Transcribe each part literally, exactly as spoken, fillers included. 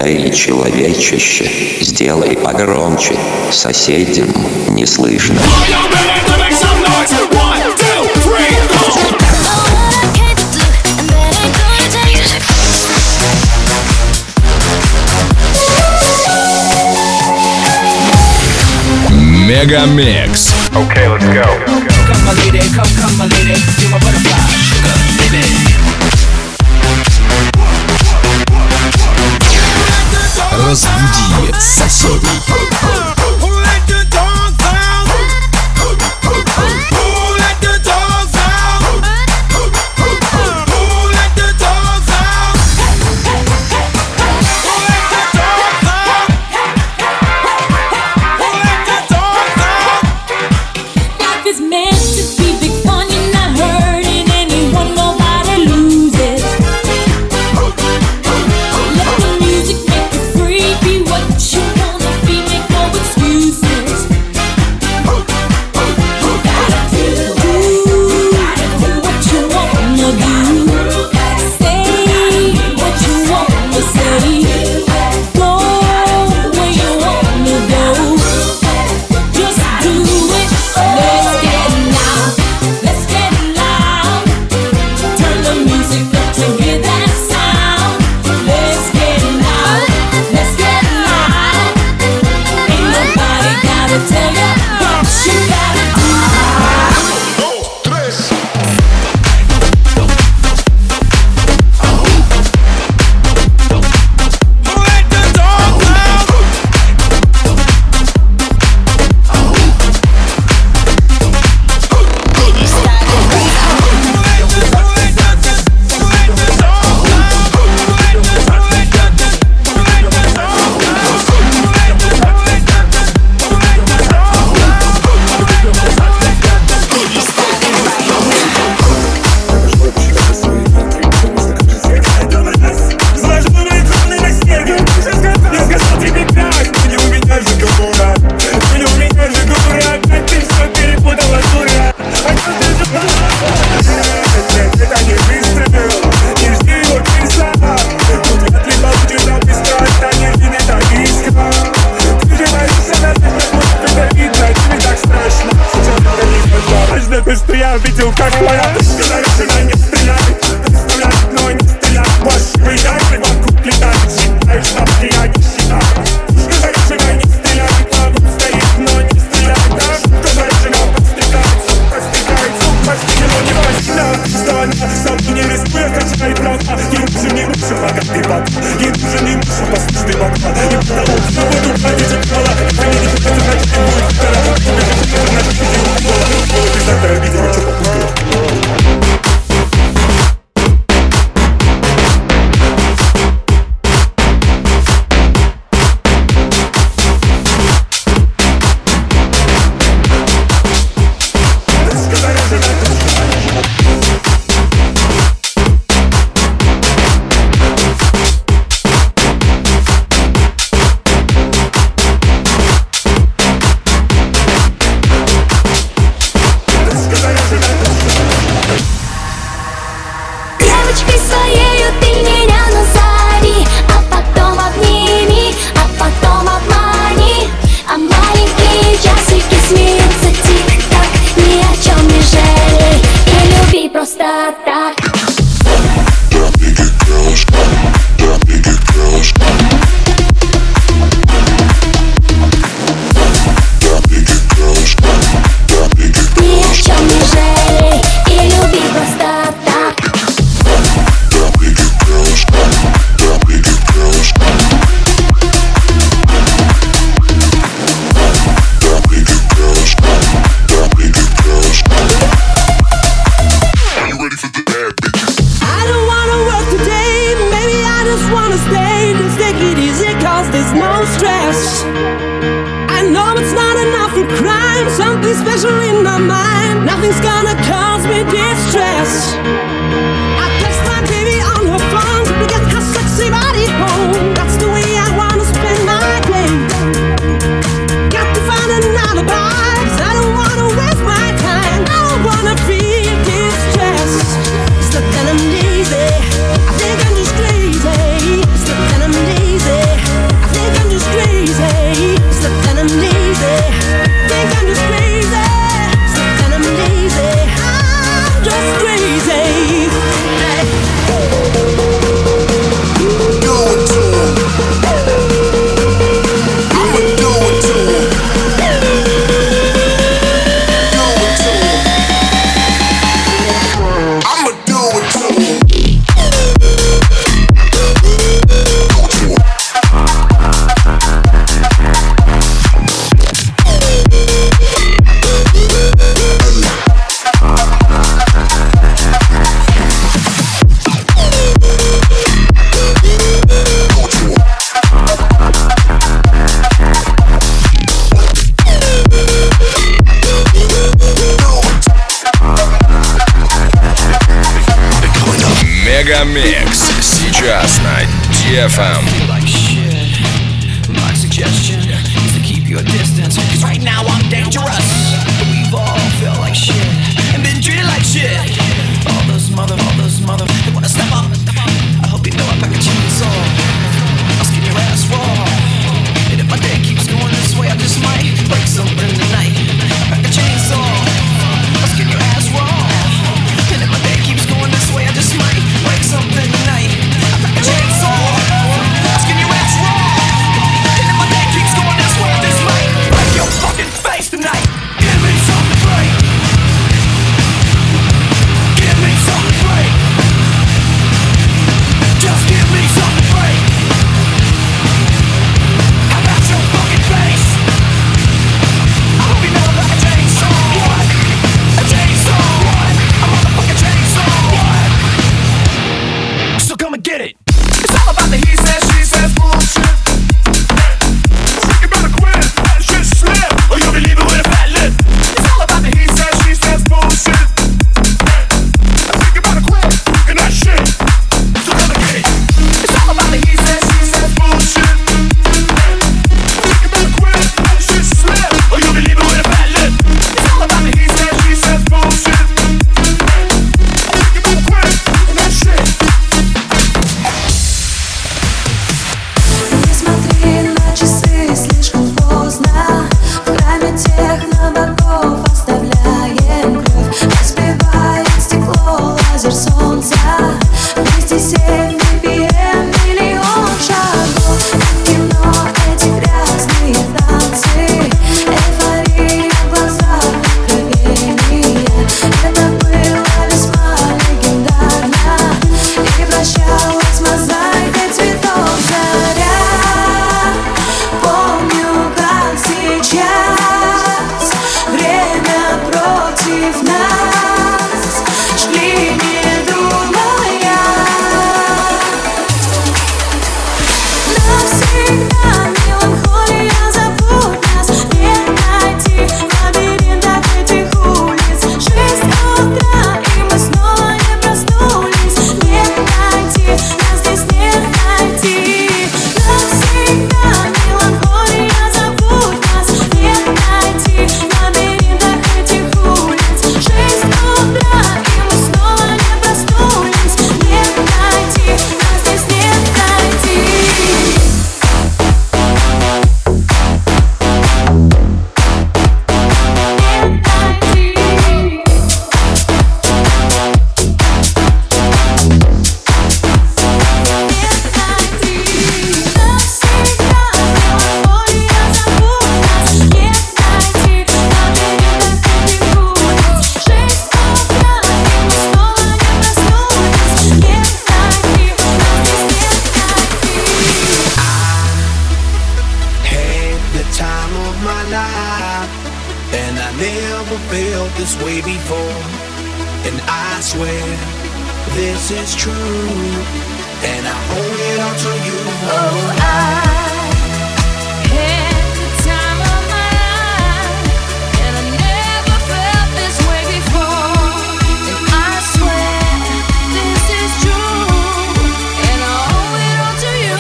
Эй, человечище, сделай погромче, соседям не слышно. Мегамикс. Okay, let's go. Come my lady, come, come my lady, you're my butterfly, sugar, baby. Разбуди соседей. Easy. I think I'm just crazy. It's looking I'm easy. Мегамикс сейчас на ди эф эм. My suggestion is to keep your distance, cause right now I'm dangerous. We've all felt like shit and been treated like shit. All those mother, all those mother, they wanna step up. I hope you know I pack a chainsaw. I'll skin your ass raw. And if my day keeps going this way, I just might break something tonight. I pack a chainsaw. I'll skin your ass raw. And if my day keeps going this way, I just might break something tonight. I pack a chainsaw. I'll skin your ass raw. And if my day keeps going this way, I just might break your fucking face tonight. Give me something to break. Give me something to break. Just give me something to break. I got your fucking face. I hope you know I'm like a chainsaw. What? A chainsaw. What? A motherfucking chainsaw. What? So come and get it. It's all about the he says, she says bullshit. You better quit, let shit slip, or you'll be leaving with a fat lip. It's all about the he says, she says bullshit. I think you better quit, and that shit. So come and get it. It's all about the he says, she says bullshit. I think you better quit, let shit slip, or you'll be leaving with a fat lip. It's all about the he says, she says bullshit. I think you better quit, and that shit. Не смотри на часы, слишком поздно. В храме техно богов оставляем кровь. Разбивает стекло лазер солнца. двести семь би пи эм, миллион шагов. В кино эти грязные танцы. Эйфория в глазах, откровение. Это было весьма легендарно. И прощалась мозаикой цветов заря. Помню, как сейчас время против нас. Шли, не думая. Навсегда меланхолия, забудь нас. Не найти в лабиринтах этих улиц. Шесть утра, и мы снова не проснулись. Не найти, нас здесь не найти. Навсегда меланхолия, забудь нас. Не найти в лабиринтах этих улиц. Шесть утра, и мы снова не проснулись. Не найти, нас здесь не найти. Had the time of my life, and I never felt this way before. And I swear this is true, and I owe it all to you. Oh, I had the time of my life, and I never felt this way before. And I swear this is true, and I owe it all to you.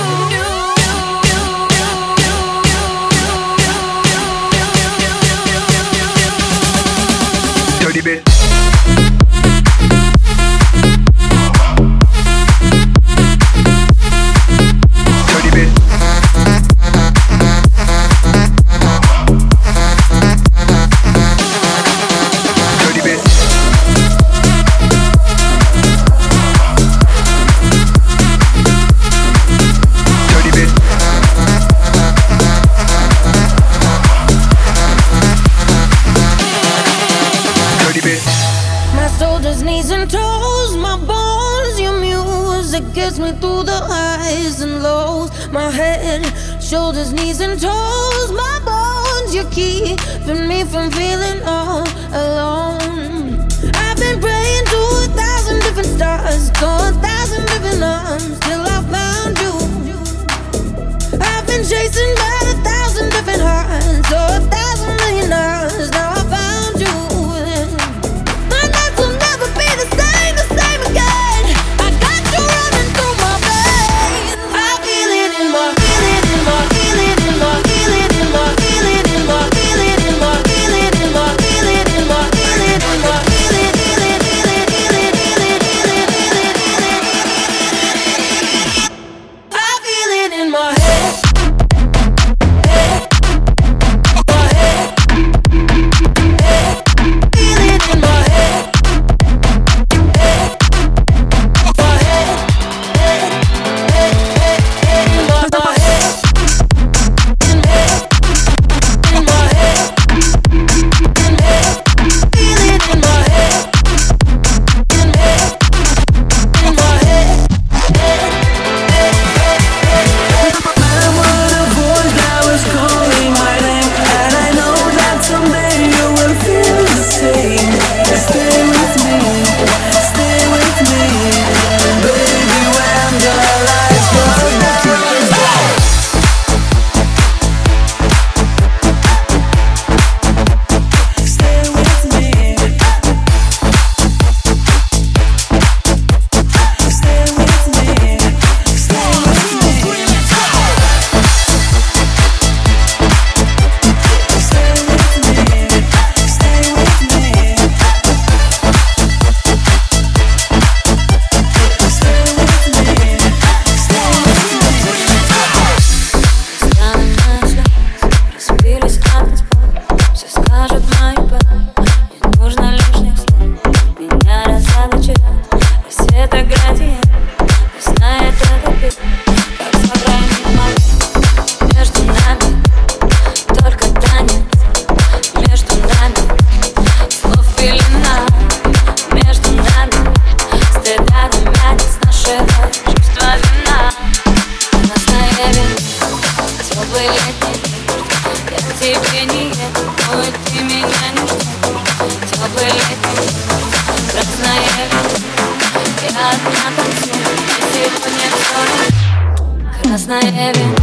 Dirty bit. Dirty bit. Dirty bit. Dirty bit. Dirty bit. My shoulders, knees and toes, my bones, your music gets me through the highs and lows. My head, shoulders, knees and toes, my bones, you're keeping me from feeling all alone. I've been praying to a thousand different stars, to a thousand different arms, till I found you. I've been chasing by a thousand different hearts, to a thousand million hours, now I found you. My nights will never be the same, the same again. I got you теплый летний день. Я к тебе не еду, но и ты меня не ждешь. Теплый летний день, красная вина. Я одна танцую, и сегодня все красная вина.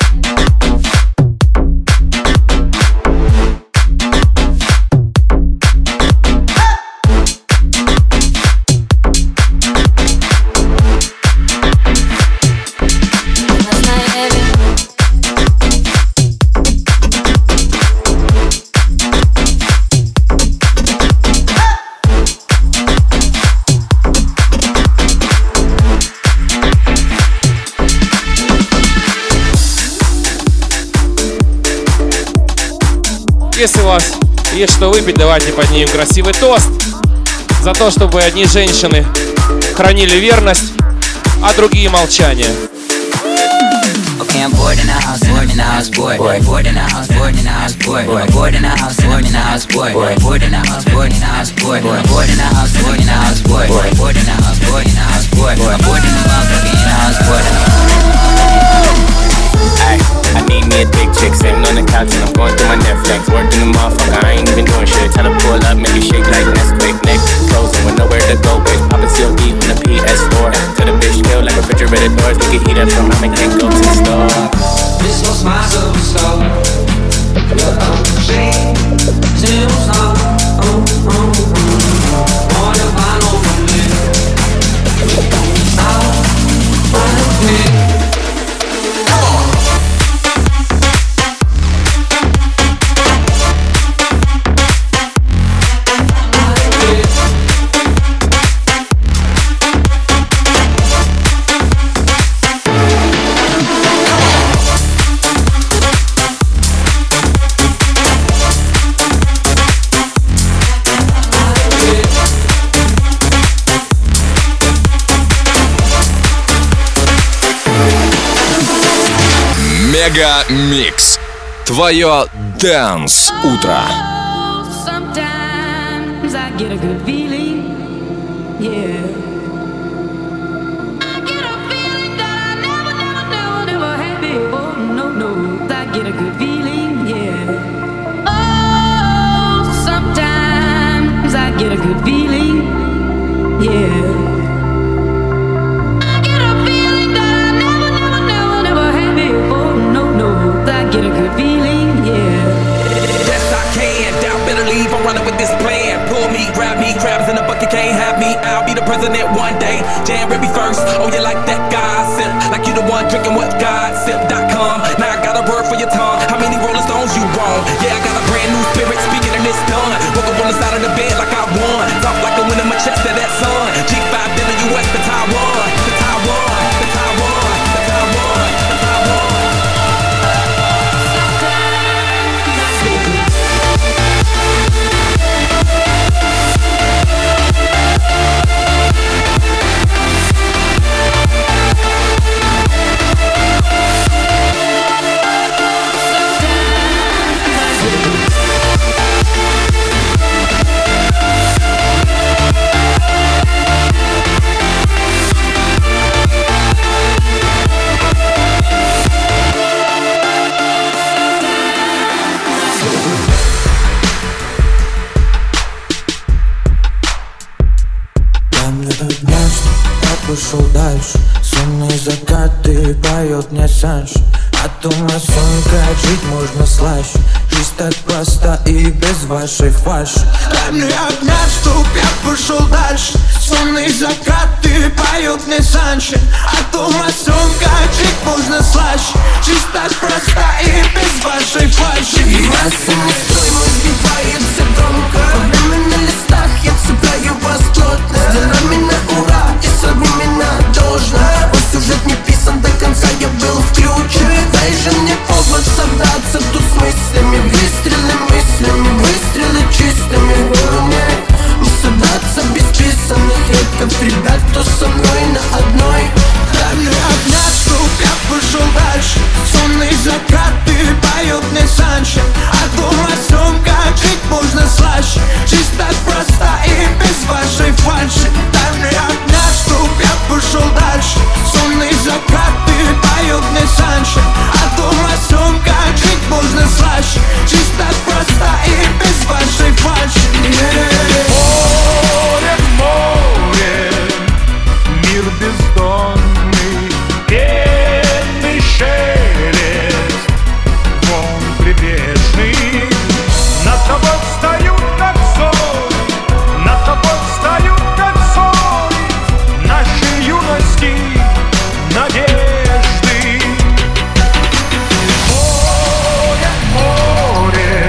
Если у вас есть что выпить, давайте поднимем красивый тост за то, чтобы одни женщины хранили верность, а другие молчание. Okay, I'm bored in the house, bored in the house, bored, bored in the house, bored in the house, bored, bored in the house, bored in the house, bored, bored in the house, bored in the house, bored, bored in the house, bored in the house, bored, bored in the house, bored in the house, bored, bored in the motherfucking in the house, bored. Ay, I need me a big chick sitting on the couch and I'm going through my Netflix, working the motherfucker, I ain't even doing shit. Try to pull up, make it shake like Nesquik, neck frozen with nowhere to go, bitch. Poppin' C O D on the P S four. To the bitch kill like refrigerator doors, we can heat up from home and can't go to the store. This was my superstar. Yeah, I'm saying, zero star. Oh, oh, oh. What if I know from it? Stop, find me. Мега Микс. Твое Dance утро. Sometimes I get a good feeling, yeah. I get a feeling that I never, never, never, never had before. No, no, I get a good feeling, yeah. Oh, sometimes I get a good feeling, yeah. Get a good feeling, yeah. Yes, I can. Doubt, better leave. I'm running with this plan. Pull me, grab me, crabs in the bucket can't have me. I'll be the president one day. January first. Oh, you like that gossip? Like you the one drinking what gossip dot com. Now I got a word for your tongue. How many Rolling Stones you want? Yeah, I got a brand new spirit speaking and it's done. Woke up on the side of the bed like I won. Talk like a win in my chest to that sun. G five to the U S to Taiwan. To Taiwan. To Taiwan. To Taiwan. To Taiwan. Ушел дальше, сонные закаты поет мне Санж. А думаю, сон, как жить можно слаще. Жизнь так проста и без вашей фальши. Дай мне огня, чтоб я пошел дальше. Сонные закаты поет мне Санж. А думаю, сон, как жить можно слаще. Жизнь так проста и без вашей фальши. Масса не стой, мой сбивается громко. Время на листах, я цепляю вас плотно. С делами на ура и с одними на должно. Мой сюжет не писан до конца, я был включен. Дай же мне повод собраться тут с мыслями. Выстрелы мыслями, выстрелы чистыми. Не собраться без писанных редков ребят, кто со мной на одной. Дай мне огня, чтоб я пошел дальше. Сонные закаты поет мне Санж. А думаю, сон, как жить можно слаще. Жизнь так проста и без вашей фальши. Дай мне огня, чтоб я пошел дальше. Сонные закаты поет мне Санж. А думаю, сон, фальши. Чисто, просто и без вашей фальши. Море, море, мир бездонный, пенный шелест, волн прибрежный. Над тобой встают, как зори, над тобой встают, как зори нашей юности надежды. Море, море,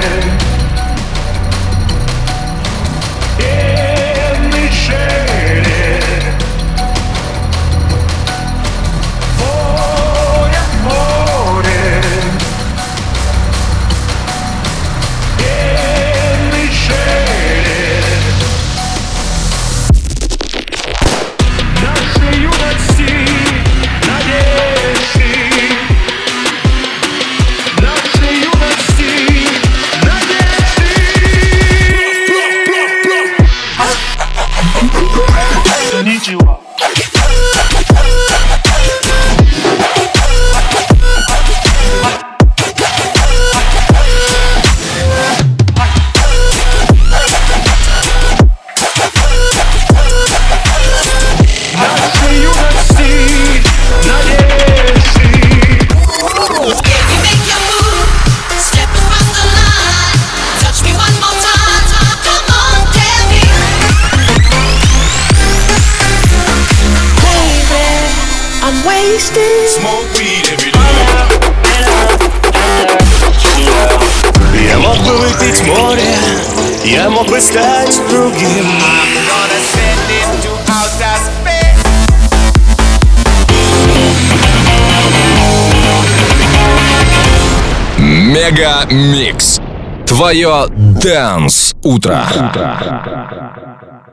пенный шелест. Море, море, пенный шелест нашей юности надежды. Нашей юности надежды. Ничего. Нашей юности надежды. You make your move, step across the line. Touch me one more time. Come on, tell me. Baby, I'm wasted. Smoke weed every day. Я мог бы выпить море, я мог бы стать другим. Мега Микс. Твое Dance утро.